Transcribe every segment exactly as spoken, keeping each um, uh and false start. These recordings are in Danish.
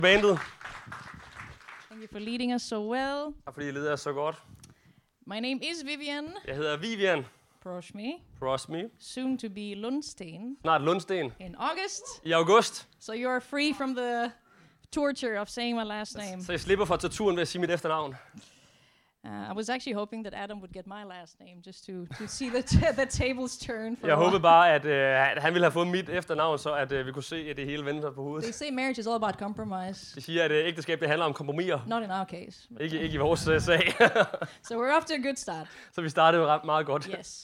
Bandet. Thank you for leading us so well. Tak fordi I leder os så godt. My name is Vivian Jeg hedder Vivian Proshmi, Prosmi. soon to be Lundsten Snart Lundsten. in August. I august. So you are free from the torture of saying my last name. Så jeg slipper for torturen ved at sige mit efternavn. Uh, I was actually hoping that Adam would get my last name just to, to see the, t- the tables turn. For Jeg a while. håbede bare, at, øh, at han ville have fået mit efternavn, så at øh, vi kunne se, at det hele vendte sig på They hovedet. say marriage is all about compromise. De siger, at øh, ægteskab det handler om kompromiser. Not in our case. but- Ikke, ikke i vores øh, sag. So we're off to a good start. Så vi startede jo ret meget godt. Yes.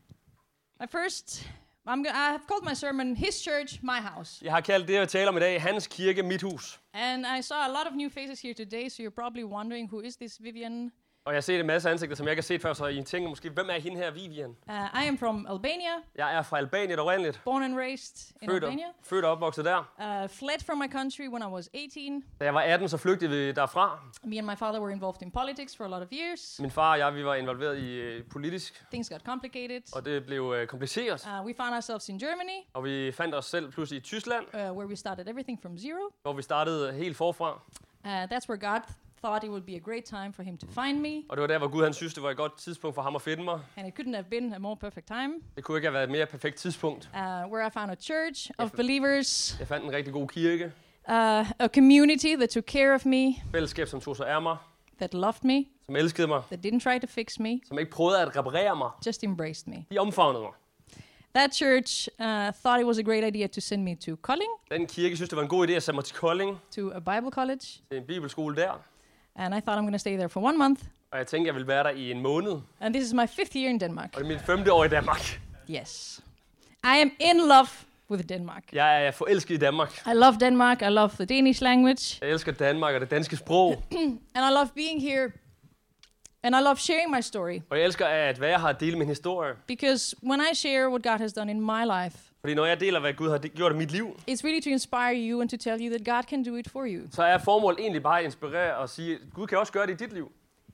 My first, I'm go- I have called my sermon His Church, My House. Jeg har kaldt det, jeg taler om i dag, Hans Kirke, Mit Hus. And I saw a lot of new faces here today, so you're probably wondering, who is this Vivian? Og jeg har set en masse ansigter, som jeg ikke har set før, så I tænker måske, hvem er hende her, Vivian? Uh, I am from Albania, Jeg er fra Albanien oprindeligt. born and raised in Født og, Albania. født og opvokset der. Uh, fled from my country when I was eighteen. Da jeg var atten, så flygtede vi derfra. Me and my father were involved in politics for a lot of years. Min far og jeg, vi var involveret i øh, politisk, Things got complicated. og det blev øh, kompliceret. Uh, we found ourselves in Germany, Og vi fandt os selv pludselig i Tyskland, uh, where we started everything from zero. hvor vi startede helt forfra. Uh, that's where God thought it would be a great time for him to find me, Og det var der, hvor Gud han synes, det var et godt tidspunkt for ham at finde mig. and it couldn't have been a more perfect time. Det kunne ikke have været et mere perfekt tidspunkt. Uh, where I found a church of believers, Jeg fandt en rigtig god kirke. uh, a community that took care of me, Fællesskab, som tog sig af mig. that loved me, Som elskede mig. that didn't try to fix me, Som ikke prøvede at reparere mig. just embraced me. De omfavnede mig. That church uh, thought it was a great idea to send me to Kolding, Den kirke synes, det var en god idé at sende mig til Kolding. to a Bible college, Til en bibelskole der. and I thought I'm going to stay there for one month. Og jeg tænkte, jeg ville være der i en måned. And this is my fifth year in Denmark. Og det er mit femte år i Danmark. Yes. I am in love with Denmark. Jeg er forelsket i Danmark. I love Denmark. I love the Danish language. Jeg elsker Danmark og det danske sprog. And I love being here. And I love sharing my story. Og jeg elsker at være her og dele min historie. Because when I share what God has done in my life, Fordi når jeg deler, hvad Gud har gjort i mit liv, it's really to inspire you and to tell you that God can do it for you. så er formålet egentlig bare at inspirere og sige, at Gud kan også gøre det i dit liv.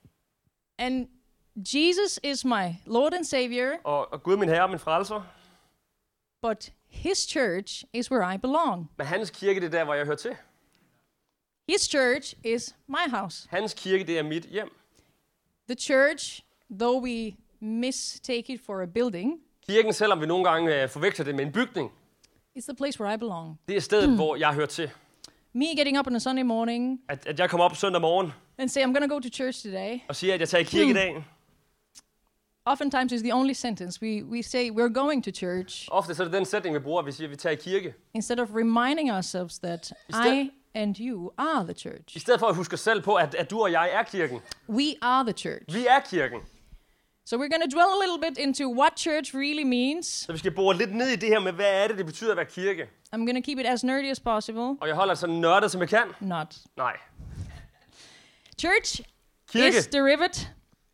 And Jesus is my Lord and Savior, Og, og Gud er min herre og min frelser. but His church is where I belong. Men hans kirke, det er der, hvor jeg hører til. His church is my house. Hans kirke, det er mit hjem. The church, though we mistake it for a building, Kirken, selvom vi nogle gange øh, forveksler det med en bygning, is the place where I belong. det er stedet, hvor jeg hører til. Me getting up on a Sunday morning At, at jeg kommer op søndag morgen and say, I'm going to go to church today, og siger, at jeg tager i kirke i dag. oftentimes is the only sentence. We, we say we're going to church Ofte så er det den sætning, vi bruger, at vi siger, at vi tager i kirke. instead of reminding ourselves that Instead- I and you are the church. I stedet for at huske os selv på, at, at du og jeg er kirken. We are the church. Vi er kirken. So we're going to dwell a little bit into what church really means. Så vi skal bore lidt ned i det her med, hvad er det, det betyder at være kirke. I'm going to keep it as nerdy as possible. Og jeg holder det så nørdet, som jeg kan. Not. Nej. Church Kirke. is derived.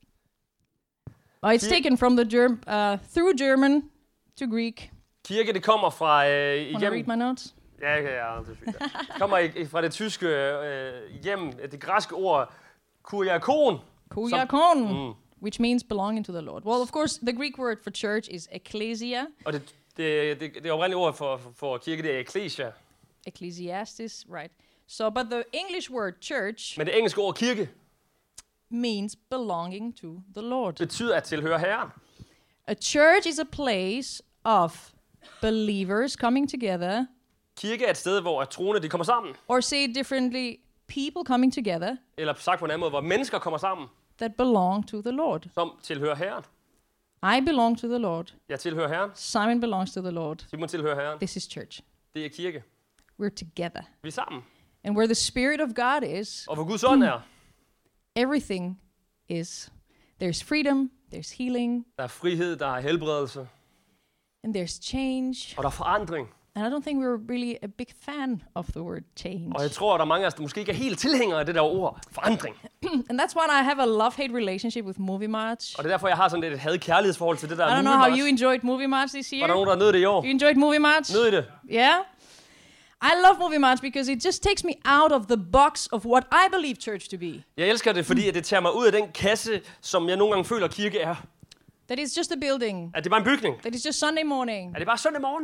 Oh, it's Kir- taken from the germ uh, through German to Greek. Kirke, det kommer fra øh, Want to read igennem... my notes? Ja, ja, ja, det er fint. Det kommer i, fra det tyske øh, hjem, det græske ord kuriakon. Kuriakon, Mm. which means belonging to the Lord. Well, of course, the Greek word for church is ecclesia. Og det, det, det, det oprindelige ord for, for, for kirke, det er ecclesia. Ecclesiastes, right. So, but the English word church Men det engelske ord kirke means belonging to the Lord. betyder at tilhøre Herren. A church is a place of believers coming together, Kirke er et sted, hvor at troende de kommer sammen. or say it differently, people coming together Eller sagt på en anden måde, hvor mennesker kommer sammen, that belong to the Lord. som tilhører Herren. I belong to the Lord. Jeg tilhører Herren. Simon belongs to the Lord. Simon tilhører Herren. This is church. Det er kirke. We're together. Vi er sammen. And where the Spirit of God is, Og hvor Guds ånd er, everything is. There's freedom, there's healing, der er frihed, der er helbredelse, and there's change. og der er forandring. And I don't think we're really a big fan of the word change. Og jeg tror, at der er mange af os, der måske ikke er helt tilhængere af det der ord, forandring. And that's why I have a love-hate relationship with Movie March. Og det er derfor, jeg har sådan lidt et had-kærlighedsforhold til det der I don't Movie know how March. you enjoyed Movie March this Var year. der nogen, der nød det i år? You enjoyed Movie March? Nød I det? Yeah? I love Movie March because it just takes me out of the box of what I believe church to be. Jeg elsker det, fordi at det tager mig ud af den kasse, som jeg nogle gange føler, kirke er. That it's just a building. At det er bare en bygning. That it's just Sunday morning. Er det bare søndag morgen?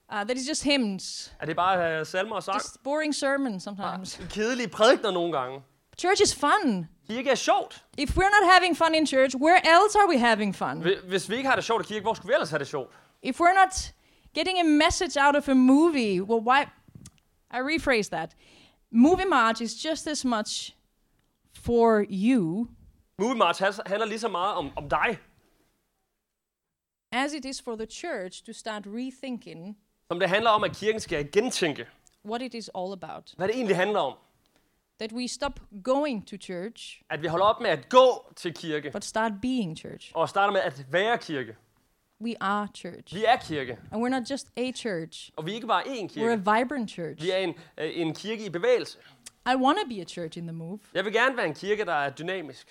Uh, that is just hymns. Er det bare uh, salmer og sang? Just boring sermons sometimes. Ah, kedelige prædikener nogle gange. Church is fun. Kirke er sjovt. If we're not having fun in church, where else are we having fun? Hvis vi ikke har det sjovt i kirke, hvor skulle vi ellers have det sjovt? If we're not getting a message out of a movie, well, why? I rephrase that. Movie March is just as much for you Movie March handler lige så meget om, om dig, as it is for the church to start rethinking som det handler om, at kirken skal gentænke, what it is all about. hvad det egentlig handler om. That we stop going to church, At vi holder op med at gå til kirke, but start being church. og starter med at være kirke. We are church. Vi er kirke, And we're not just a church. og vi er ikke bare én We're kirke. a vibrant church. Vi er en, øh, en kirke i bevægelse. I want to be a church in the move. Jeg vil gerne være en kirke, der er dynamisk.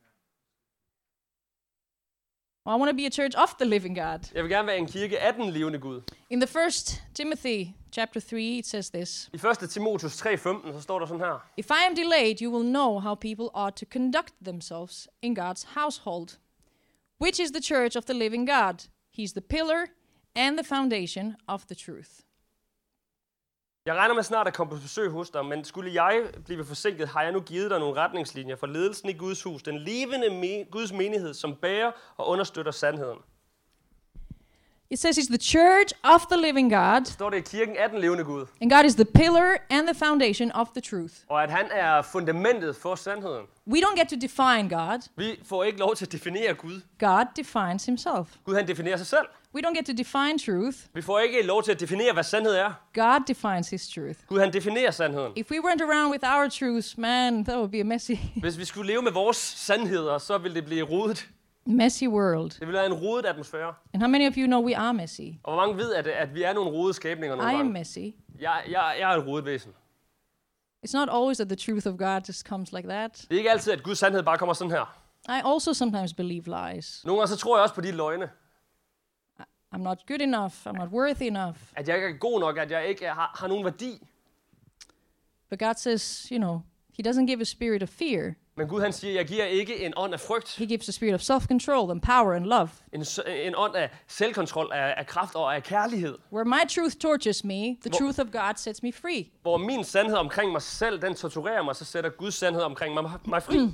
I want to be a church of the living God. Jeg vil gerne være en kirke af den levende Gud. In the first Timothy chapter three, it says this. I første Timotheus tre femten, så står der sådan her. If I am delayed, you will know how people ought to conduct themselves in God's household, which is the church of the living God. He's the pillar and the foundation of the truth. Jeg regner med snart at komme på besøg hos dig, men skulle jeg blive forsinket, har jeg nu givet dig nogle retningslinjer for ledelsen i Guds hus, den levende me- Guds menighed, som bærer og understøtter sandheden. It says he's the church of the living God, Står det i kirken af den levende Gud, and God is the pillar and the foundation of the truth. og at han er fundamentet for sandheden. We don't get to define God. Vi får ikke lov til at definere Gud. God defines himself. Gud han definerer sig selv. We don't get to define truth. Vi får ikke lov til at definere, hvad sandhed er. God defines his truth. Gud han definerer sandheden. If we went around with our truths, man, that would be a messy, Hvis vi skulle leve med vores sandheder, så ville det blive rodet. messy world. Det ville være en rodet atmosfære. And how many of you know we are messy? Og hvor mange ved, at, at vi er nogle rodede skabninger nogle I am gange? messy. Jeg, jeg, jeg er et rodet væsen. It's not always that the truth of God just comes like that. Det er ikke altid, at Guds sandhed bare kommer sådan her. I also sometimes believe lies. Nogle gange så tror jeg også på de løgne. I'm not good enough. I'm not worthy enough. At jeg ikke er god nok, at jeg ikke har, har nogen værdi. But God says, you know, he doesn't give a spirit of fear. Men Gud han siger, jeg giver ikke en ånd af frygt. He gives a spirit of self-control and power and love. En, s- en ånd af selvkontrol, af, af kraft og af kærlighed. Where my truth tortures me, the Hvor- truth of God sets me free. Hvor min sandhed omkring mig selv, den torturerer mig, så sætter Guds sandhed omkring mig, mig fri.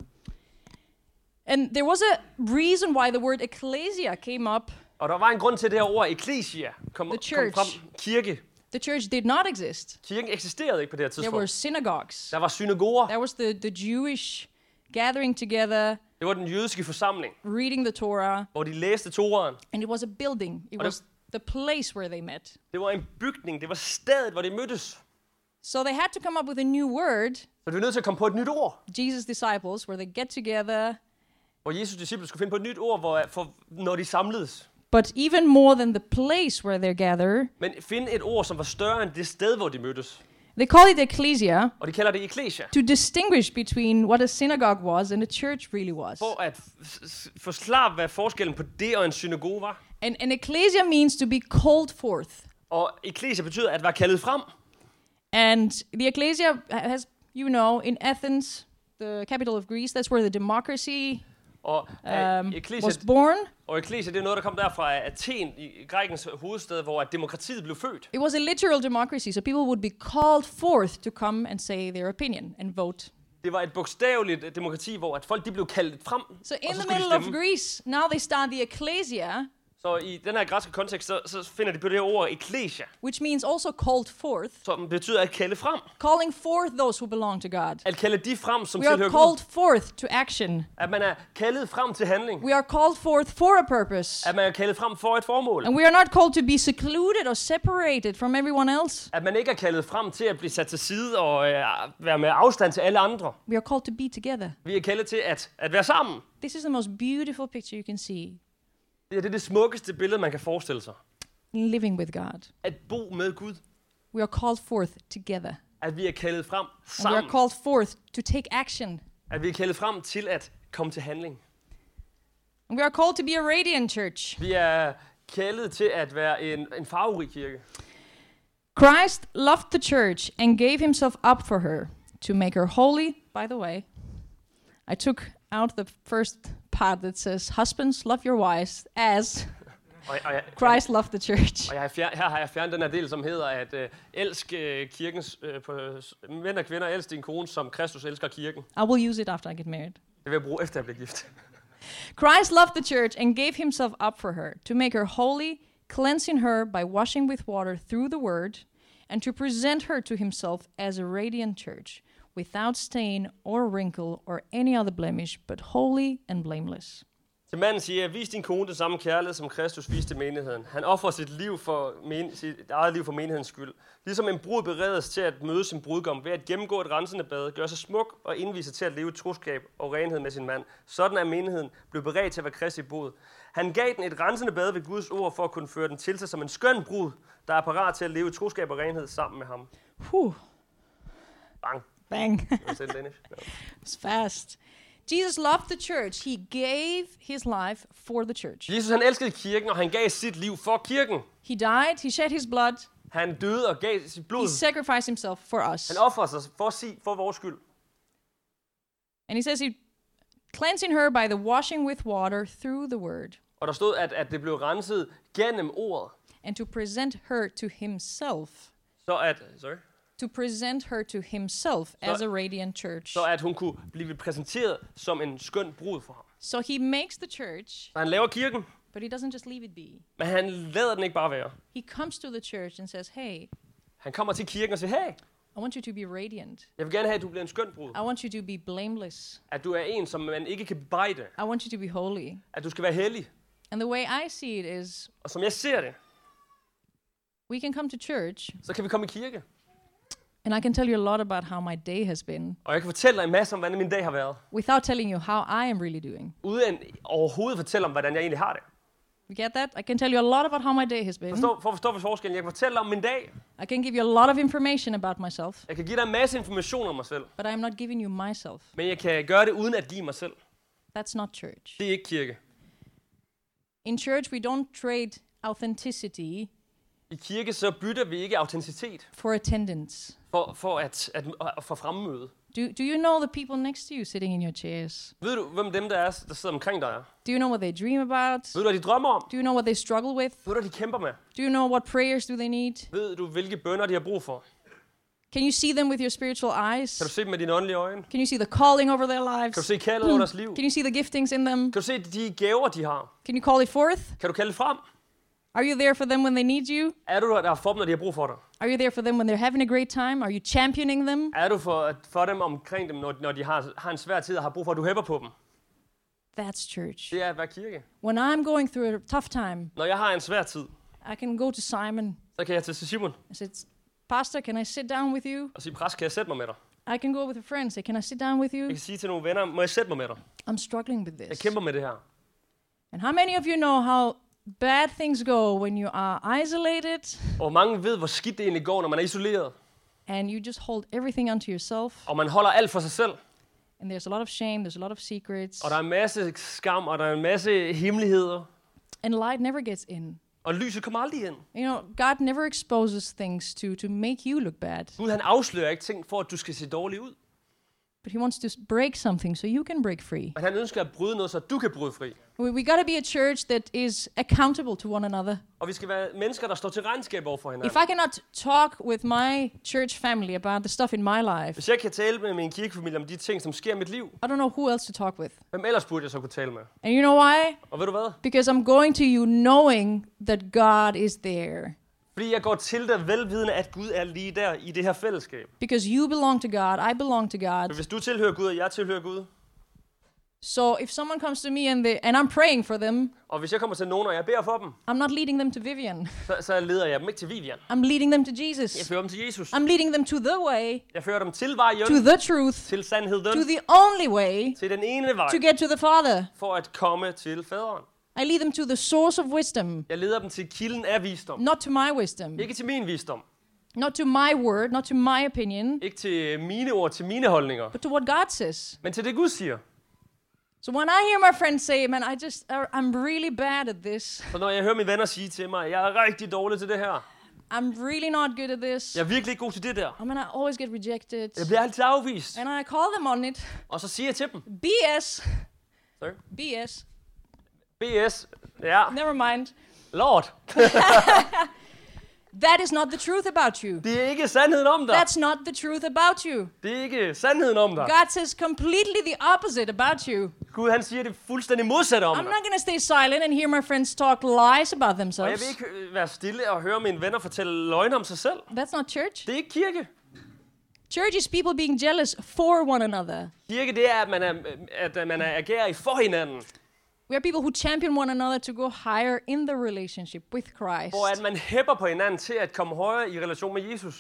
And there was a reason why the word ecclesia came up. Og der var en grund til, at det her ord eklesia kom, The kom church. frem. Kirke. The church did not exist. Kirken eksisterede ikke på det her There were tidspunkt. synagogues. Der var synagoger. There was the, the Jewish gathering together, Det var den jødiske forsamling, reading the Torah, hvor de læste Toraen. and it was a building. It Og det- was the place where they met. Det var en bygning. Det var stedet, hvor de mødtes. So they had to come up with a new word. Så de var nødt til at komme på et nyt ord. Jesus' disciples, where they get together. Hvor Jesus disciple skulle finde på et nyt ord, hvor, for, når de samledes. But even more than the place where they gather, Men finde et ord, som var større end det sted, hvor de mødtes. they call it ecclesia Og de kalder det eklesia. to distinguish between what a synagogue was and a church really was. For at f- s- forklare, hvad forskellen på det og en synagoge var. And an ecclesia means to be called forth. Og eklesia betyder at være kaldet frem. And the ecclesia has, you know, in Athens, the capital of Greece, that's where the democracy Og um, um, eklesia, was born. og eklesia, det er noget, der kom der fra Athen, i Grækens hovedstad, hvor at demokratiet blev født. It was a literal democracy, so people would be called forth to come and say their opinion and vote. Det var et bogstaveligt demokrati, hvor at folk de blev kaldt frem, So og in så the skulle de middle of stemme. Greece, now they start the ecclesia, Så i den her græske kontekst, så, så finder de på det her ord eklesia, which means also called forth, som betyder at kalde frem. calling forth those who belong to God. At kalde de frem, som We are tilhører called Gud. forth to action. At man er kaldet frem til handling. We are called forth for a purpose. At man er kaldet frem for et formål. And we are not called to be secluded or separated from everyone else. At man ikke er kaldet frem til at blive sat til side og øh, være med afstand til alle andre. We are called to be together. Vi er kaldet til at, at være sammen. This is the most beautiful picture you can see. Det er det, det smukkeste billede, man kan forestille sig. Living with God. At bo med Gud. We are called forth together. At vi er kaldet frem And we are sammen. called forth to take action. At vi er kaldet frem til at komme til handling. And we are called to be a radiant church. Vi er kaldet til at være en, en farverig kirke. Christ loved the church and gave himself up for her to make her holy. By the way, I took out the first part that says, husbands, love your wives as Og, og, jeg, Christ loved the church. og jeg har fjern, her har jeg fjernet den her del, som hedder, at uh, elsk uh, kirkens, uh, på, uh, mænd og kvinder, elsk din kone, som Kristus elsker kirken. I will use it after I get married. Det vil jeg bruge, efter jeg bliver gift. Christ loved the church and gave himself up for her, to make her holy, cleansing her by washing with water through the word, and to present her to himself as a radiant church, without stain or wrinkle or any other blemish, but holy and blameless. Til manden siger jeg, vis din kone det samme kærlighed, som Kristus viste menigheden. Han offrer sit liv for men, sit eget liv for menighedens skyld. Ligesom en brud beredes til at møde sin brudgom ved at gennemgå et rensende bad, gøre sig smuk og indvise til at leve i troskab og renhed med sin mand. Sådan er menigheden blevet beredt til at være Kristi brud. Han gav den et rensende bad ved Guds ord for at kunne føre den til sig som en skøn brud, der er parat til at leve i troskab og renhed sammen med ham. Whew. Bang. Bang. Was it Danish? No. It's fast. Jesus loved the church. He gave his life for the church. Jesus han elskede kirken, og han gav sit liv for kirken. He died, he shed his blood, Han døde og gav sit blod. he sacrificed himself for us. Han offrede sig for, sig, for vores skyld. And he says he cleansing her by the washing with water through the word, Og der stod, at, at det blev renset gennem ordet. and to present her to himself. Så at, sorry, To present her to himself as a radiant church. så at hun kunne blive præsenteret som en skøn brud for ham. So he makes the church, Så han laver kirken, but he doesn't just leave it be. men han lader den ikke bare være. He comes to the church and says, hey, Han kommer til kirken og siger, hey, I want you to be radiant. jeg vil gerne have, at du bliver en skøn brud. I want you to be blameless. At du er en, som man ikke kan bebrejde. I want you to be holy. At du skal være hellig. And the way I see it is, Og som jeg ser det, we can come to church, så kan vi komme i kirke. and I can tell you a lot about how my day has been, Og jeg kan fortælle dig en masse om, hvordan min dag har været. without telling you how I am really doing. Uden overhovedet fortælle om, hvordan jeg egentlig har det. You get that? I can tell you a lot about how my day has been. Forstå, for at forstå forskellen. Jeg kan fortælle om min dag. I can give you a lot of information about myself, Jeg kan give dig en masse information om mig selv. but I am not giving you myself. Men jeg kan gøre det uden at give mig selv. That's not church. Det er ikke kirke. In church, we don't trade authenticity I kirke så bytter vi ikke autenticitet for attendance. for, for at, at, at for fremmøde. Do, do you know the people next to you sitting in your chairs? Ved du, hvem dem der er, der sidder omkring dig er? Do you know what they dream about? Ved du, hvad de drømmer om? Do you know what they struggle with? Ved du, hvad de kæmper med? Do you know what prayers do they need? Ved du, hvilke bønner de har brug for? Can you see them with your spiritual eyes? Kan du se dem med dine åndelige øjne? Can you see the calling over their Kan du lives? se kaldet over deres liv? Can you see the giftings in them? Kan du se de gaver, de har? Can you call it forth? Kan du kalde det frem? Are you there for them when they need you? Er du der for dem, når de har brug for dig? Are you there for them when they're having a great time? Are you championing them? Er du for, for dem omkring dem, når, når de har, har en svær tid og har brug for, at du hæpper på dem? That's church. Det er at være kirke. When I'm going through a tough time, Når jeg har en svær tid, I can go to Simon. så kan jeg til Simon I said, Pastor, can I sit down with you? og sige, præst, kan jeg sætte mig med dig? I can go with a friend and say, can I sit down with you? Jeg kan sige til nogle venner, må jeg sætte mig med dig? I'm struggling with Jeg this. kæmper med det her. And how many of you know how bad things go when you are isolated Og mange ved, hvor skidt det egentlig går, når man er isoleret. and you just hold everything onto yourself? Og man holder alt for sig selv. And there's a lot of shame, there's a lot of secrets, Og der er en masse skam, og der er en masse hemmeligheder. and light never gets in. Og lyset kommer aldrig ind. You know, God never exposes things to, to make you look bad, Gud, han afslører ikke ting for, at du skal se dårlig ud. but He wants to s- break something so you can break free. Men han ønsker at bryde noget, så du kan bryde fri. We, we got to be a church that is accountable to one another. Og vi skal være mennesker, der står til regnskab over for hinanden. If I cannot talk with my church family about the stuff in my life, Hvis jeg kan tale med min kirkefamilie om de ting, som sker i mit liv, I don't know who else to talk with. hvem ellers burde jeg så kunne tale med? And you know why? Og ved du hvad? Because I'm going to you knowing that God is there. Fordi jeg går til dig velvidende, at Gud er lige der i det her fællesskab. Because you belong to God, I belong to Men God. hvis du tilhører Gud, og jeg tilhører Gud, So if someone comes to me and they and I'm praying for them, og hvis jeg kommer til nogen, og jeg beder for dem, I'm not leading them to Vivian. så, så leder jeg dem ikke til Vivian. I'm leading them to Jeg Jesus. fører dem til Jesus. I'm leading them to the way, Jeg fører dem til vejen, to the truth, til sandheden, to the only way til den ene vej, to get to the Father. for at komme til faderen. I lead them to the source of wisdom, Jeg leder dem til kilden af visdom. not to my wisdom, Ikke til min visdom. not to my word, not to my opinion, Ikke til mine ord, til mine holdninger. but to what God says. Men til det Gud siger. So when I hear my friends say, man, I just, I'm really bad at this. Så når jeg hører mine venner sige til mig, jeg er rigtig dårlig til det her. I'm really not good at this. Jeg er virkelig ikke god til det der. I mean, I always get rejected. Jeg bliver altid afvist. And I call them on it. Og så siger jeg til dem. B S. Sorry. B S. B S. Ja. Never mind. Lord. That is not the truth about you. Det er ikke sandheden om dig. That's not the truth about you. Det er ikke sandheden om dig. God says completely the opposite about you. Gud, han siger det fuldstændig modsatte om I'm dig. not going to stay silent and hear my friends talk lies about Og jeg themselves. vil ikke øh, være stille og høre mine venner fortælle løgne om sig selv. That's not church. Det er ikke kirke. Church is people being jealous for one another. Kirke, det er, at man er, at man er agerer i for hinanden. We are people who champion one another to go higher in the relationship with Christ. Hvor at man hæpper på hinanden til at komme højere i relation med Jesus.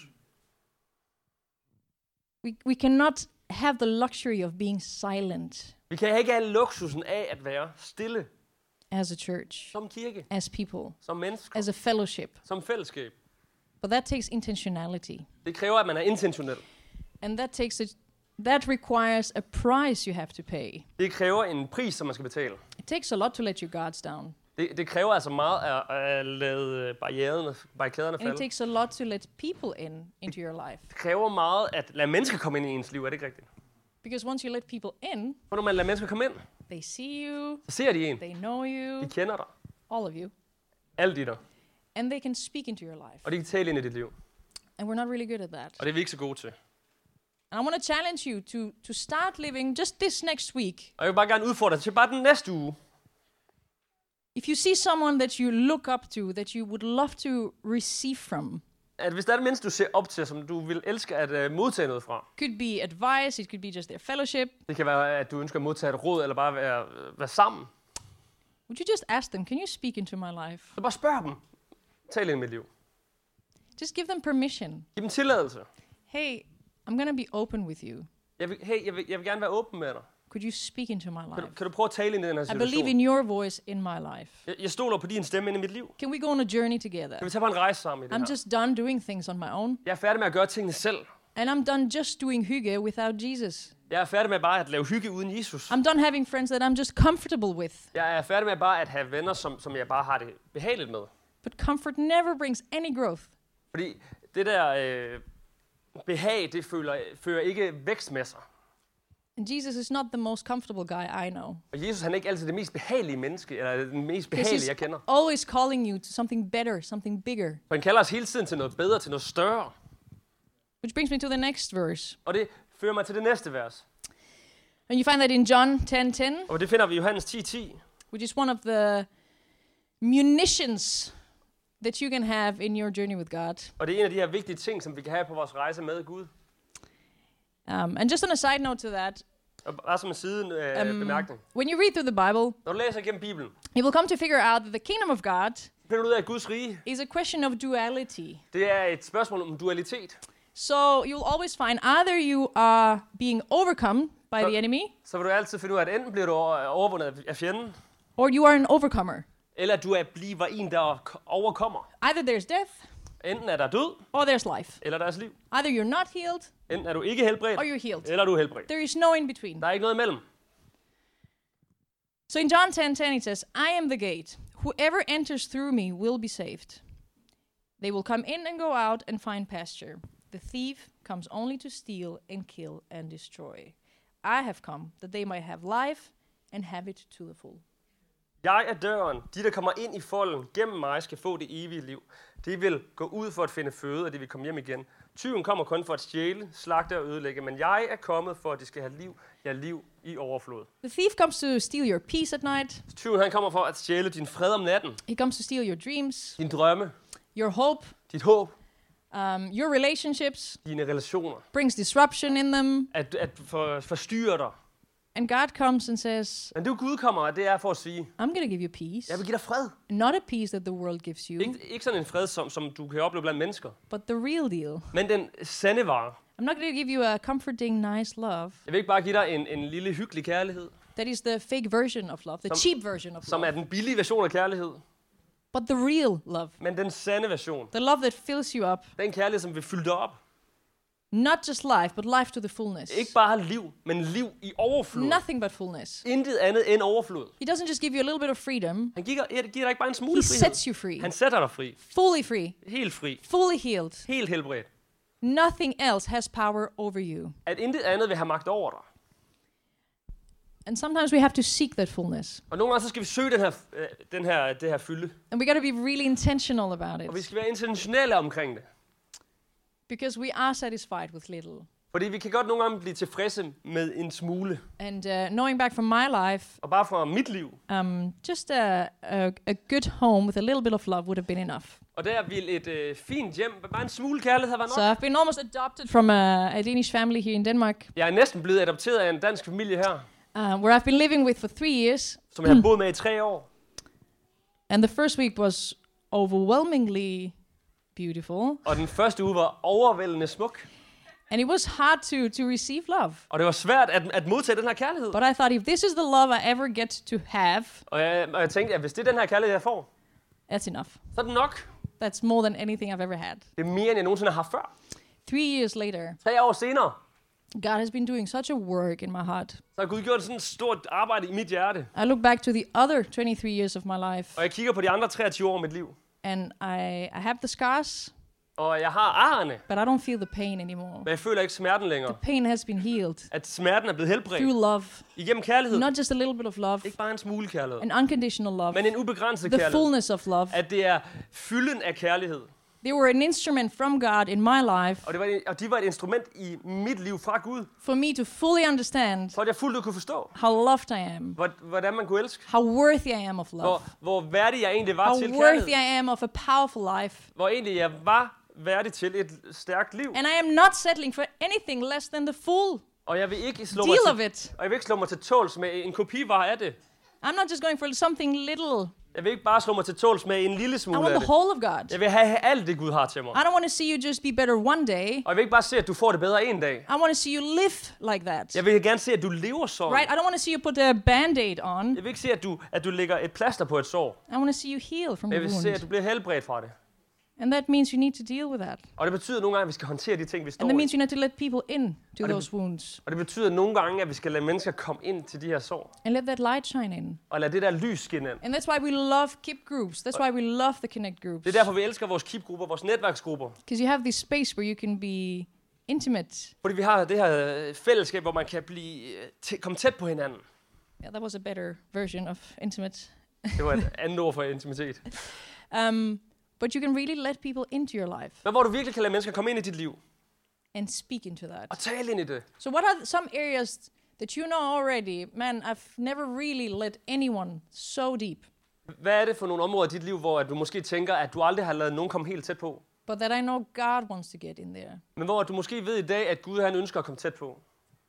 We, we cannot have the luxury of being silent Vi kan ikke have luksusen af at være stille as a church, som kirke, as people, som mennesker, as a fellowship. som fællesskab. But that takes intentionality. Det kræver, at man er intentionel. And that takes a, that requires a price you have to pay. Det kræver en pris, som man skal betale. It takes a lot to let your guards down. Det, det kræver altså meget at, at lade barriererne, barrikaderne And it falde. takes a lot to let people in into your life. Det kræver meget at lade mennesker komme ind i ens liv, er det ikke rigtigt? Because once you let people in, For når man lader mennesker komme ind, they see you, så ser de en. they know you, De kender dig. all of you, Alt i dig. and they can speak into your life. Og de kan tale ind i dit liv. And we're not really good at that. Og det er vi ikke så gode til. And I want to challenge you to, to start living just this next week. Og jeg vil bare gerne udfordre dig til bare den næste uge. If you see someone that you look up to, that you would love to receive from, At hvis der er et menneske, du ser op til, som du vil elske at uh, modtage noget fra. could be advice, it could be just their fellowship. Det kan være, at du ønsker at modtage et råd, eller bare være, være sammen. Would you just ask them, can you speak into my life? Så bare spørg dem. Tal ind i mit liv. Just give them permission. Giv dem tilladelse. Hey, I'm going to be open with you. Jeg vil, hey, jeg vil, jeg vil gerne være åben med dig. Could you speak into my Kan du, life? kan du prøve at tale ind i den her I believe situation? in your voice in my life. Jeg, jeg stoler på din stemme ind i mit liv. Can we go on a journey together? Kan vi tage på en rejse sammen i det I'm her? just done doing things on my own. Jeg er færdig med at gøre tingene selv. And I'm done just doing hygge without Jesus. Jeg er færdig med bare at lave hygge uden Jesus. I'm done having friends that I'm just comfortable with. Jeg er færdig med bare at have venner, som, som jeg bare har det behageligt med. But comfort never brings any growth. Fordi det der øh, behag, det føler, fører ikke vækst med sig. And Jesus is not the most comfortable guy I know. Og Jesus, han er ikke altid det mest behagelige menneske, eller den mest Because behagelige, he's jeg kender. always calling you to something better, something bigger. For han kalder os hele tiden til noget bedre, til noget større. Which brings me to the next verse. Og det fører mig til det næste vers. And you find that in John ten ten, Og det finder vi i Johannes ti ti. which is one of the munitions that you can have in your journey with God. Og det er en af de her vigtige ting, som vi kan have på vores rejse med Gud. Um, and just on a side note to that, Og bare som en side øh, um, bemærkning. when you read through the Bible, Når du læser igennem Bibelen, you will come to figure out that the kingdom of God finder du ud af, at Guds rige, is a question of duality. det er et spørgsmål om dualitet. So you'll always find either you are being overcome by So- the enemy, Så vil du altid finde ud af, at enten bliver du over- overvundet af fjenden, or you are an overcomer. eller at du er bliver en, der k- overkommer. Either there's death, Enten er der død, or there's life. eller deres liv. Either you're not healed, Enten er du ikke helbredt, or you're healed. eller du er helbredt. There is no in between. Der er ikke noget imellem. So in John ten ten, it says, I am the gate. Whoever enters through me will be saved. They will come in and go out and find pasture. The thief comes only to steal and kill and destroy. I have come that they might have life and have it to the full. Jeg er døren. De, der kommer ind i folden gennem mig, skal få det evige liv. De vil gå ud for at finde føde, og de vil komme hjem igen. Tyven kommer kun for at stjæle, slagte og ødelægge, men jeg er kommet for, at de skal have liv, ja, liv i overflod. The thief comes to steal your peace at night. Tyven, han kommer for at stjæle din fred om natten, He comes to steal your dreams, din drømme, your hope, dit håb, um, your relationships, dine relationer, brings disruption in them. at, at for, forstyrre dig. And God comes and says, Men det Gud kommer, og det er for at sige, I'm going to give you peace. jeg vil give dig fred. Not a peace that the world gives you, Ikke, ikke sådan en fred, som, som du kan opleve blandt mennesker, but the real deal. men den sande vare. I'm not going to give you a comforting, nice love. Jeg vil ikke bare give dig en, en lille hyggelig kærlighed, That is the fake version of love, the Som- cheap version of som love. er den billige version af kærlighed, But the real love, men den sande version. the love that fills you up. Den kærlighed, som vil fylde dig op. Not just life, but life to the fullness. Ikke bare liv, men liv i overflod. Nothing but fullness. Intet andet end overflod. He doesn't just give you a little bit of freedom, Han giver, giver dig ikke bare en he smule frihed. sets you free. Han sætter dig fri. Fully free, Helt fri. fully healed. Helt helbredt. Nothing else has power over you. At intet andet vil have magt over dig. And sometimes we have to seek that fullness. Og nogle gange så skal vi søge den her, øh, den her, det her fylde. And we got to be really intentional about Og vi it. skal være intentionelle omkring det. Because we are satisfied with little. Fordi vi kan godt nogle gange blive tilfredse med en smule. And uh, knowing back from my life, Og bare fra mit liv. um, just a, a, a good home with a little bit of love would have been enough. Og der ville et øh, fint hjem, bare en smule kærlighed var nok. So I've been almost adopted from a, a Danish family here in Denmark, Jeg er næsten blevet adopteret af en dansk familie her, uh, where I've been living with for three years. som jeg har boet med i tre år. And the first week was overwhelmingly beautiful. Og den første uge var overvældende smuk. And it was hard to, to receive love. Og det var svært at, at modtage den her kærlighed. But I thought, if this is the love I ever get to have, Og jeg, og jeg tænkte, at hvis det er den her kærlighed, jeg får, that's enough. så er det nok. That's more than anything I've ever had. Det er mere, end jeg nogensinde har haft før. Three years later, Tre år senere, God has been doing such a work in my heart. så har Gud gjort sådan et stort arbejde i mit hjerte. I look back to the other twenty-three years of my life, Og jeg kigger på de andre treogtyve år af mit liv. and I, I have the scars, Og jeg har arrene, but I don't feel the pain anymore. men jeg føler ikke smerten længere. The pain has been healed At smerten er blevet helbredt through love, igennem kærlighed. not just a little bit of love, Ikke bare en smule kærlighed, an unconditional love, men en ubegrænset the kærlighed. fullness of love. At det er fylden af kærlighed. They were an instrument from God in my life Og, det var, og de var et instrument i mit liv fra Gud, for me to fully understand for at jeg fuldt ud kunne forstå, how loved I am, hvor- hvordan man kunne elske. how worthy I am of love, Hvor, hvor værdig jeg egentlig var how til worthy kærlighed. I am of a powerful life. Hvor egentlig jeg var værdig til et stærkt liv. And I am not settling for anything less than the full Og jeg vil ikke slå mig deal of til, it. og jeg vil ikke slå mig til tåls med en kopivare af det. I'm not just going for something little. Jeg vil ikke bare slå mig til tåls med en lille I smule want af the det. whole of God. Jeg vil have alt det, Gud har til mig. I don't want to see you just be better one day. Og jeg vil ikke bare se, at du får det bedre en dag. I want to see you live like that. Jeg vil gerne se, at du lever sådan. Right? I don't want to see you put a band-aid on. Jeg vil ikke se, at du, at du lægger et plaster på et sår. I want to see you heal from Jeg the vil se, at wound. du bliver helbredt fra det. And that means you need to deal with that. Og det betyder nogle gange, at vi skal håndtere de ting, vi står And that i. means you need to let people in to Og det- those wounds. Og det betyder nogle gange, at vi skal lade mennesker komme ind til de her sår. And let that light shine in. Og lade det der lys skinne ind. And that's why we love Keep groups. That's why we love the Connect groups. Det er derfor, vi elsker vores keep-grupper, vores netværksgrupper. Because you have this space where you can be intimate. Fordi vi har det her øh, fællesskab, hvor man kan blive, øh, tæ- komme tæt på hinanden. Yeah, that was a better version of intimate. Det var et andet ord for intimitet. Um, but you can really let people into your life Men hvor du virkelig kan lade mennesker komme ind i dit liv. and speak into that. Og tale ind i det. So what are th- some areas that you know already? Man, I've never really let anyone so deep, Hvad er det for nogle områder i dit liv, hvor at du måske tænker, at du aldrig har ladet nogen komme helt tæt på? but that I know God wants to get in there. Men hvor du måske ved i dag, at Gud han ønsker at komme tæt på.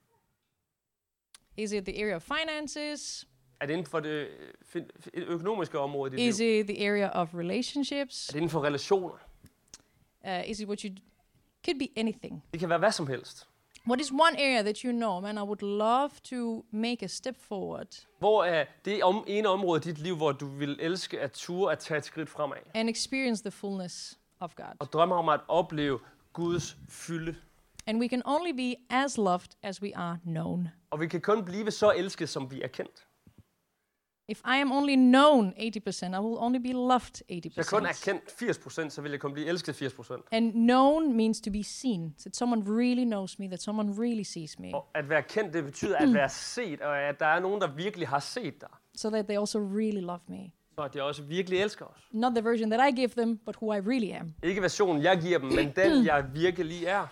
Is it the area of finances? Er det inden for det øh, fin- fin- økonomiske område i dit Is liv? it the area of relationships? Er det inden for relationer? Uh, is it what you d- could be anything? Det kan være hvad som helst. What is one area that you know, man, I would love to make a step forward Hvor er det om, ene område i dit liv, hvor du vil elske at ture at tage et skridt fremad? and experience the fullness of God? Og drømmer om at opleve Guds fylde. And we can only be as loved as we are known. Og vi kan kun blive så elsket, som vi er kendt. If I am only known eighty percent, I will only be loved eighty Hvis jeg kun er percent. kendt firs procent, så vil jeg kun blive elsket firs procent. And known means to be seen. That someone really knows me, that someone really sees me. Og at være kendt, det betyder at være set, og at der er nogen, der virkelig har set dig. So that they also really love me. Så at de også virkelig elsker os. Not the version that I give them, but who I really am. Ikke versionen, jeg giver dem, men den, jeg virkelig er.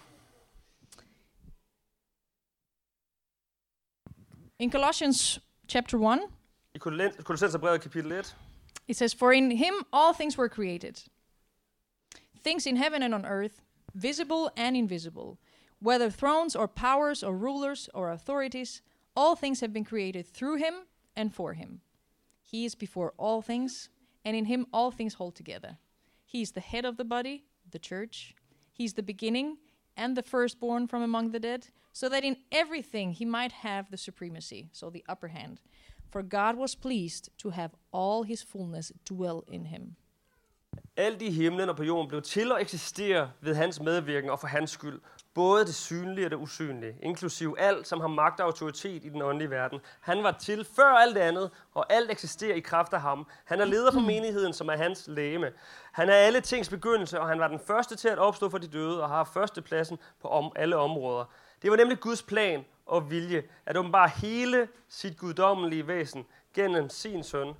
In Colossians chapter one, I Kolossenserbrevet kapitel et, it says, "For in him all things were created, things in heaven and on earth, visible and invisible, whether thrones or powers or rulers or authorities, all things have been created through him and for him. He is before all things, and in him all things hold together. He is the head of the body, the church. He is the beginning and the firstborn from among the dead, so that in everything he might have the supremacy, so the upper hand. For God was pleased to have all his fullness dwell in him." alt i himlen og på jorden blev til og eksisterer ved hans medvirken og for hans skyld. Både det synlige og det usynlige, inklusiv alt, som har magt og autoritet i den åndelige verden. Han var til før alt andet, og alt eksisterer i kraft af ham. Han er leder for menigheden, som er hans legeme. Han er alle tings begyndelse, og han var den første til at opstå for de døde og har førstepladsen på om alle områder. Det var nemlig Guds plan og vilje at åbenbare hele sit guddommelige væsen gennem sin søn.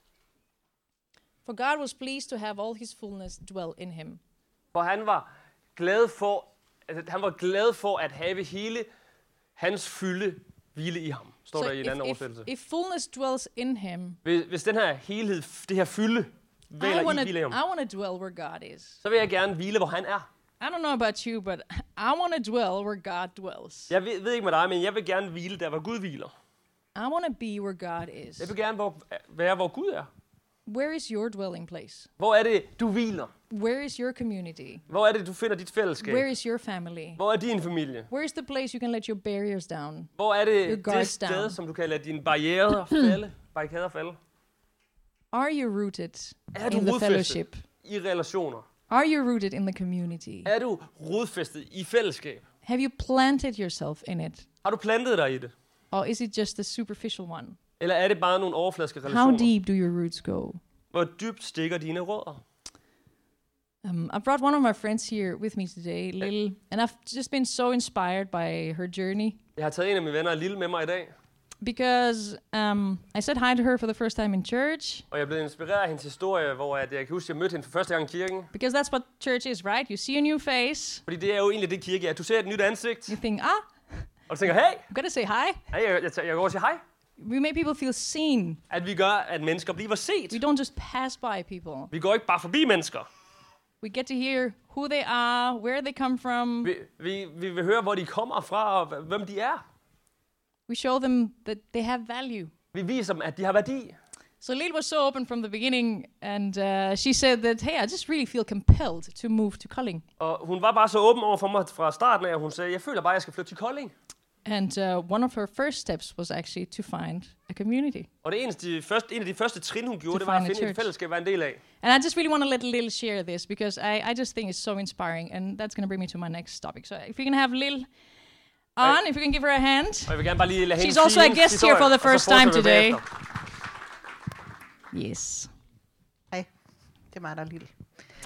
For God was pleased to have all his fullness dwell in him. For han var glad for, altså, han var glad for at have hele hans fylde hvile i ham, står So der i en if, anden if, oversættelse. if fullness dwells in him, Hvis, hvis den her helhed, det her fylde, I hviler want i to hvile i ham, I want to dwell where God is. så vil jeg gerne hvile, hvor han er. I don't know about you, but I want to dwell where God dwells. Jeg ved, ved ikke med dig, men jeg vil gerne hvile der, hvor Gud hviler. I want to be where God is. Jeg vil gerne hvor, være, hvor Gud er. Where is your dwelling place? Hvor er det, du hviler? Where is your community? Hvor er det, du finder dit fællesskab? Where is your family? Hvor er din familie? Where is the place you can let your barriers down? Hvor er Your det det guards sted, down. som du kan lade dine barrierer falde? Barrikader falde? Are you rooted Er du in the rodfæstet fellowship? i relationer? Are you rooted in the community? Er du rodfæstet i fællesskab? Have you planted yourself in it? Har du plantet dig i det? Or is it just a superficial one? Eller er det bare nogle overfladiske How relationer? deep do your roots go? Hvor dybt stikker dine rødder? Um, I brought one of my friends here with me today, Lil, and I've just been so inspired by her journey Jeg har taget en af mine venner, Lille, med mig i dag. because um, I said hi to her for the first time in church Og jeg er blevet inspireret af hendes historie, hvor at jeg kan huske, at jeg mødte hende for første gang i kirken. because that's what church is, right? You see a new face, Fordi det er jo egentlig det kirke er. Du ser et nyt ansigt, you think, ah, og du tænker, hey, I'm gonna say hi. hey jeg, jeg, jeg går over og siger hej. We make people feel seen. At vi gør, at mennesker bliver set. We don't just pass by people. Vi går ikke bare forbi mennesker. We get to hear who they are, where they come from. Vi, vi, vi vil høre, hvor de kommer fra, og h- hvem de er. We show them that they have value. Vi viser dem, at de har værdi. So Lil was so open from the beginning, and uh, she said that, hey, I just really feel compelled to move to Kolding. Og hun var bare så åben over for mig fra starten af, og hun sagde, jeg føler bare, at jeg skal flytte til Kolding. And uh, one of her first steps was actually to find a community. Og det eneste, de første, en af de første trin, hun gjorde, To det var at find a finde et church. fællesskab at være en del af. And I just really want to let Lil share this because I, I just think it's so inspiring, and that's going to bring me to my next topic. So if we can have Lil on, if you can give her a hand. Og jeg vil gerne bare lige lade hende She's also sige a hendes guest here for historie, the og så first time fortsætter vi today. bagefter. Yes. Det er mig, der er lille.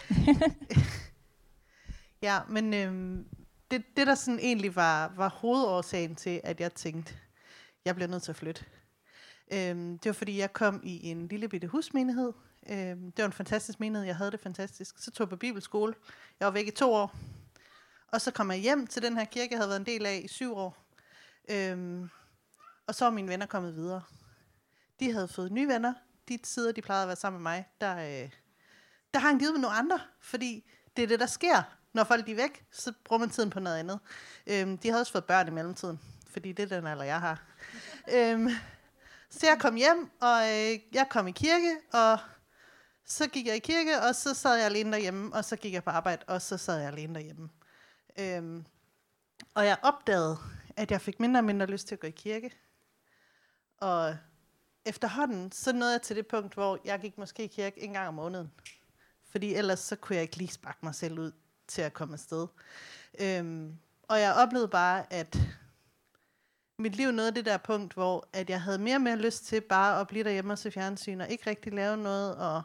Ja, men øhm, det, det, der sådan egentlig var, var hovedårsagen til, at jeg tænkte, jeg bliver nødt til at flytte. Øhm, det var, fordi jeg kom i en lille bitte husmenighed. Øhm, det var en fantastisk menighed, jeg havde det fantastisk. Så tog jeg på bibelskole. Jeg var væk i to år. Og så kom jeg hjem til den her kirke, jeg havde været en del af i syv år. Øhm, og så var mine venner kommet videre. De havde fået nye venner. De tider, de plejede at være sammen med mig, der, øh, der har han givet med nogle andre, fordi det er det, der sker. Når folk er væk, så bruger man tiden på noget andet. Øhm, de havde også fået børn i mellemtiden, fordi det er den alder, jeg har. øhm, så jeg kom hjem, og øh, jeg kom i kirke, og så gik jeg i kirke, og så sad jeg alene derhjemme, og så gik jeg på arbejde, og så sad jeg alene derhjemme. Øhm, og jeg opdagede, at jeg fik mindre og mindre lyst til at gå i kirke. Og efterhånden, så nåede jeg til det punkt, hvor jeg gik måske i kirke en gang om måneden. Fordi ellers så kunne jeg ikke lige sparke mig selv ud til at komme afsted. Øhm, og jeg oplevede bare, at mit liv nåede det der punkt, hvor at jeg havde mere og mere lyst til bare at blive derhjemme og se fjernsyn, og ikke rigtig lave noget, og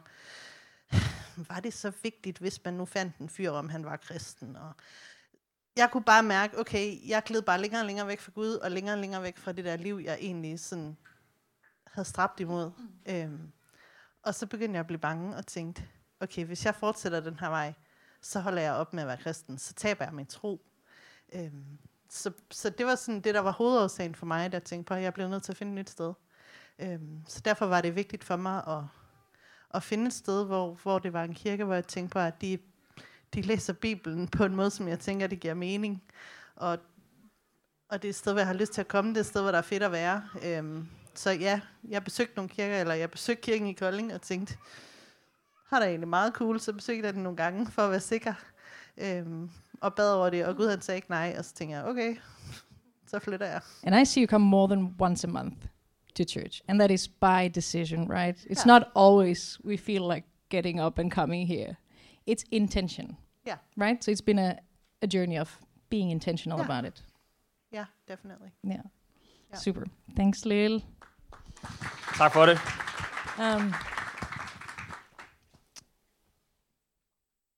var det så vigtigt, hvis man nu fandt en fyr, om han var kristen, og jeg kunne bare mærke, okay, jeg gled bare længere og længere væk fra Gud, og længere og længere væk fra det der liv, jeg egentlig sådan havde stræbt imod. Mm. Øhm, og så begyndte jeg at blive bange og tænkte, okay, hvis jeg fortsætter den her vej, så holder jeg op med at være kristen, så taber jeg min tro. Øhm, så, så det var sådan det, der var hovedårsagen for mig, da jeg tænkte på, at jeg blev nødt til at finde et nyt sted. Øhm, så derfor var det vigtigt for mig at, at finde et sted, hvor, hvor det var en kirke, hvor jeg tænkte på, at de, de læser Bibelen på en måde, som jeg tænker, det giver mening. Og, og det er et sted, hvor jeg har lyst til at komme, det er et sted, hvor der er fedt at være. Øhm, så ja, jeg besøgte nogle kirker, eller jeg besøgte kirken i Kolding, og tænkte, har der egentlig meget cool, så besøgte jeg den nogle gange, for at være sikker. Øhm, og bad over det, og Gud han sagde ikke nej, og så tænkte jeg, okay, så flytter jeg. And I see you come more than once a month to church, and that is by decision, right? It's Yeah. not always we feel like getting up and coming here. It's intention, Yeah, right? So it's been a, a journey of being intentional Yeah. about it. yeah, definitely. Yeah. Yeah. Super. Thanks, Lil. Tak for det. Um,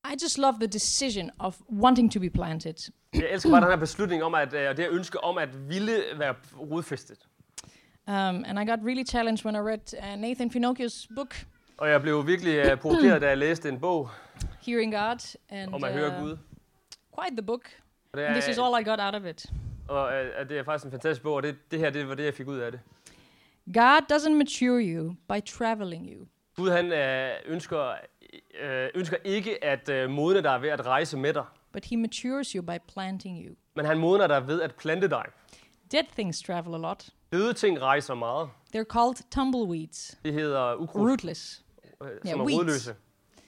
I just love the decision of wanting to be planted. Jeg elsker bare den her beslutning om, at, øh, og det her ønske om at ville være rodfæstet. Um, and I got really challenged when I read uh, Nathan Finocchio's book, Og jeg blev virkelig uh, provokeret, da jeg læste en bog Hearing God, and om at høre Gud. quite the book. Og det And this is er, all I got out of it. og, uh, det er faktisk en fantastisk bog, og det, det her det var det, jeg fik ud af det. God doesn't mature you by traveling you. Gud han uh, ønsker, uh, ønsker ikke at uh, modne dig ved at rejse med dig, But he matures you by planting you. men han modner dig ved at plante dig. Dead things travel a lot. Døde ting rejser meget. They're called tumbleweeds. Det hedder ukrudt, Rootless. uh, som Yeah, er weeds. rodløse.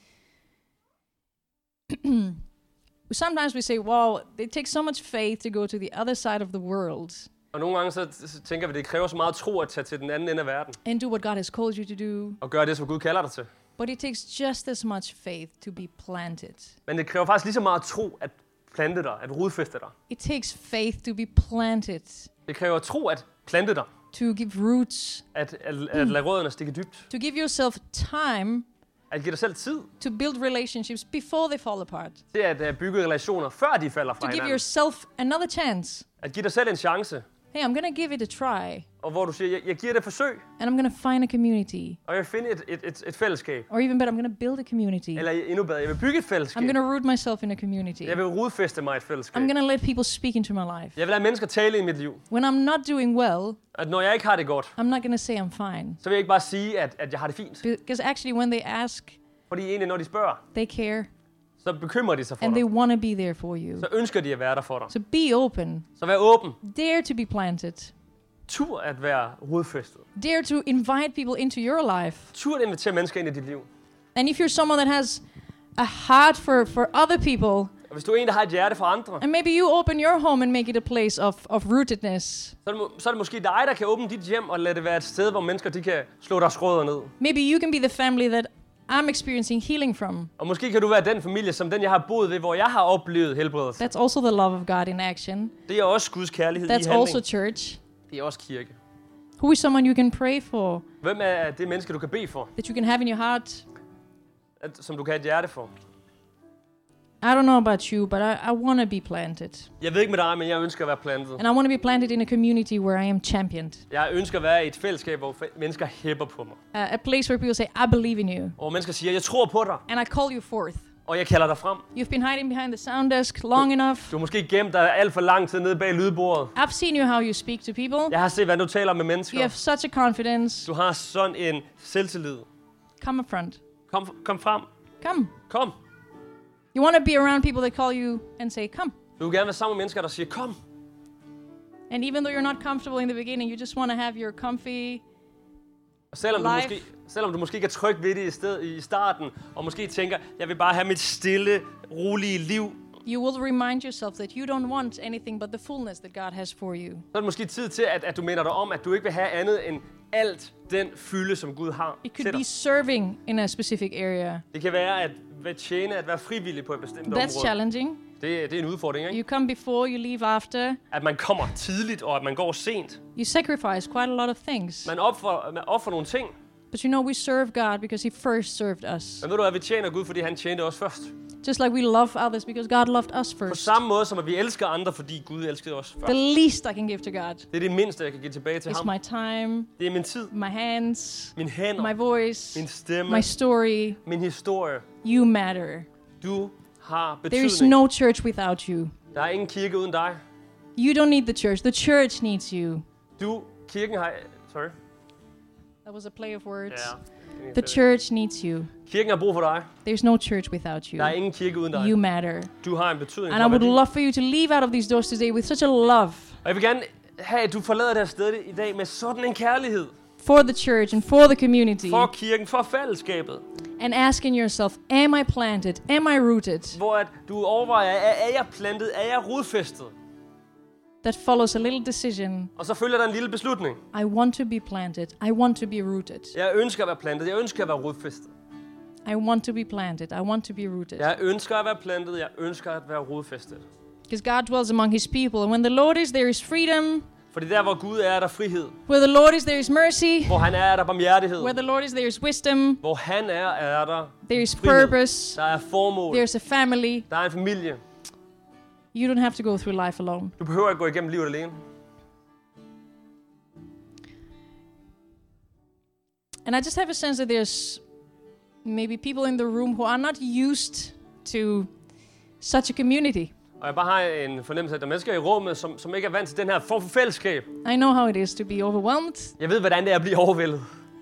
Sometimes we say, wow, it takes so much faith to go to the other side of the world Og nogle gange så, så tænker vi, at det kræver så meget tro at tage til den anden ende af verden. and do what God has called you to do. Og gøre det, som Gud kalder dig til. But it takes just as much faith to be planted. Men det kræver faktisk lige så meget tro at plante dig, at rodfæste dig. It takes faith to be planted, Det kræver tro at plante dig, to give roots, at, at, at lade rødderne stikke dybt. to give yourself time At give dig selv tid to build relationships before they fall apart, til at uh, bygge relationer, før de falder to fra give hinanden. yourself another chance. At give dig selv en chance, Hey, I'm going to give it a try, og hvor du siger, jeg, jeg giver det et forsøg, and I'm going to find a community. og jeg vil finde et, et, et, et fællesskab. Or even better, I'm going to build a community. Eller endnu bedre, jeg vil bygge et I'm fællesskab. going to root myself in a community. Jeg vil rodfæste mig i et fællesskab. I'm going to let people speak into my life. Jeg vil lade mennesker tale i mit liv. When I'm not doing well, At når jeg ikke har det godt, I'm not going to say I'm fine. så vil jeg ikke bare sige, at, at jeg har det fint. Because actually, when they ask, Fordi egentlig, når de spørger, they care så bekymrer de sig for and they dig. want to be there for you. Så ønsker de at være der for dig. So be open. Så vær åben. Dare to be planted. Tur at være rodfæstet. Dare to invite people into your life. Tur at invitere mennesker ind i dit liv. And if you're someone that has a heart for, for other people, Og hvis du er en, der har et hjerte for andre, and maybe you open your home and make it a place of, of rootedness. så er, det, må- så er det måske dig, der kan åbne dit hjem og lade det være et sted, hvor mennesker de kan slå deres rødder ned. Maybe you can be the family that I'm experiencing healing from. Og måske kan du være den familie, som den, jeg har boet ved, hvor jeg har oplevet helbredelse. That's also the love of God in action. Det er også Guds kærlighed i That's handling. also church. Det er også kirke. Who is someone you can pray for, Hvem er det menneske, du kan bede for? that you can have in your heart? At, som du kan have et hjerte for? I don't know about you, but I, I want to be planted. Jeg ved ikke med dig, men jeg ønsker at være plantet. And I want to be planted in a community where I am championed. Jeg ønsker at være i et fællesskab, hvor fe- mennesker hæpper på mig. Uh, a place where people say, I believe in you. Og hvor mennesker siger, jeg tror på dig, And I call you forth. og jeg kalder dig frem. You've been hiding behind the sound desk long enough. Du har måske gemt dig alt for lang tid nede bag lydbordet. I've seen you how you speak to people. Jeg har set, hvordan du taler med You mennesker. have such a confidence. Du har sådan en selvtillid. Come up front. Kom, kom frem. Come. Kom. You want to be around people that call you and say, come. Du vil gerne være sammen med mennesker, der siger, kom. And even though you're not comfortable in the beginning, you just want to have your comfy. Og selvom du, Life. måske, selvom du måske ikke er tryg ved det i, sted, i starten, og måske tænker, jeg vil bare have mit stille, rolige liv, You will remind yourself that you don't want anything but the fullness that God has for you. så er det måske tid til, at, at du minder dig om, at du ikke vil have andet end alt den fylde, som Gud har It til could be dig. serving in a specific area. Det kan være at være tjene, at være frivillig på et bestemt That's område. challenging. Det, det er en udfordring, ikke? You come before, you leave after. At man kommer tidligt, og at man går sent. You sacrifice quite a lot of things. Man offrer, man offrer nogle ting. But you know, we serve God because He first served us. Men ved du hvad, vi tjener Gud, fordi han tjente os først. Just like we love others because God loved us På first. samme måde som at vi elsker andre, fordi Gud elskede os først. The least I can give to God Det er det mindste, jeg kan give tilbage til is ham. my time, Det er min tid, my hands, mine hænder, my voice, min stemme, my story. min historie. You matter. Du har There is betydning. no church without you. Der er ingen kirke uden dig. You don't need the church. The church needs you. Du, kirken har... Sorry. That was a play of words. Ja. The church needs you. Kirken har brug for dig. There's no church without you. Der er ingen kirke uden dig. You matter. Du har en betydning. And du I har would værdi. love for you to leave out of these doors today with such a love Og jeg vil gerne have, at du forlader det her sted i dag med sådan en kærlighed. for the church and for the community. For kirken, for fællesskabet. And asking yourself, am I planted? Am I rooted? Hvor at du overvejer, er, er jeg plantet? Er jeg rodfæstet? That follows a little decision. Og så følger der en lille beslutning. I want to be planted. I want to be rooted. Jeg ønsker at være plantet. Jeg ønsker at være rodfæstet. I want to be planted. I want to be rooted. Jeg ønsker at være plantet. Jeg ønsker at være rodfæstet. Because God dwells among His people. And when the Lord is, there is freedom. Fordi der, hvor Gud er, er der frihed. Where the Lord is, there is mercy. Hvor han er, er der barmhjertighed. Where the Lord is, there is wisdom. Hvor han er, er der There is frihed. purpose. Der er formål. There's a family. Der er en familie. You don't have to go through life alone. Du behøver ikke gå igennem livet alene. And I just have a sense that there's maybe people in the room who are not used to such a community. Og jeg bare har en fornemmelse af, at der er mennesker i rummet, som, som ikke er vant til den her form for fællesskab. I know how it is to be overwhelmed, Jeg ved, hvordan det er at blive overvældet.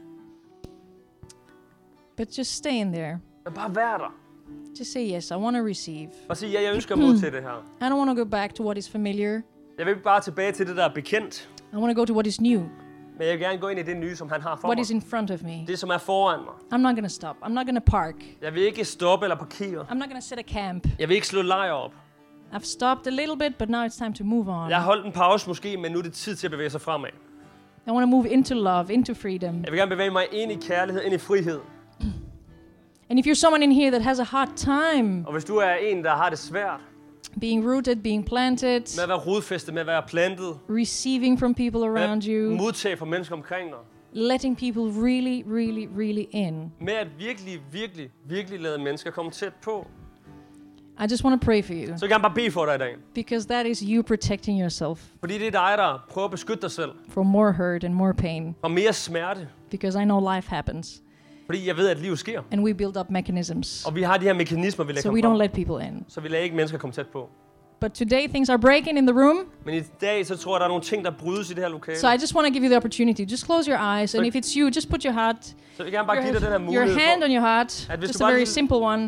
but just stay in there. Men bare vær der. Just say, yes, I want to receive. Og sige, ja, jeg ønsker at modtage det her. I don't want to go back to what is familiar. Jeg vil ikke bare tilbage til det, der er bekendt. I want to go to what is new, Men jeg vil gerne gå ind i det nye, som han har for what mig. is in front of me. Det, som er foran mig. I'm not going to stop. I'm not going to park. Jeg vil ikke stoppe eller parkere. I'm not going to set a camp. Jeg vil ikke slå lejr op. I've stopped a little bit, but now it's time to move on. Jeg har holdt en pause måske, men nu er det tid til at bevæge sig fremad. I want to move into love, into freedom. Jeg vil gerne bevæge mig ind i kærlighed, ind i frihed. And if you're someone in here that has a hard time Og hvis du er en, der har det svært being rooted, being planted, med at være rodfæstet, med at være plantet, receiving from people around med you, at modtage fra mennesker omkring dig, letting people really, really, really in. med at virkelig, virkelig, virkelig lade mennesker komme tæt på, I just want to pray for you så vil jeg gerne bare bede for dig i dag. because that is you protecting yourself Fordi det er dig, der prøver at beskytte dig selv from more hurt and more pain fra mere smerte. because I know life happens Fordi jeg ved, at livet sker. and we build up mechanisms Og vi har de her mekanismer, vi so lægger we frem. don't let people in. Så vi lader ikke mennesker komme tæt på. But today things are breaking in the room, Men i dag, så tror jeg, der er nogle ting, der brydes i det her lokale. so I just want to give you the opportunity. Just close your eyes, and Så- if it's you, just put your heart, Så jeg vil gerne bare give dig den her your, your mulighed hand for, on your heart, at hvis just du a bare very lige simple one.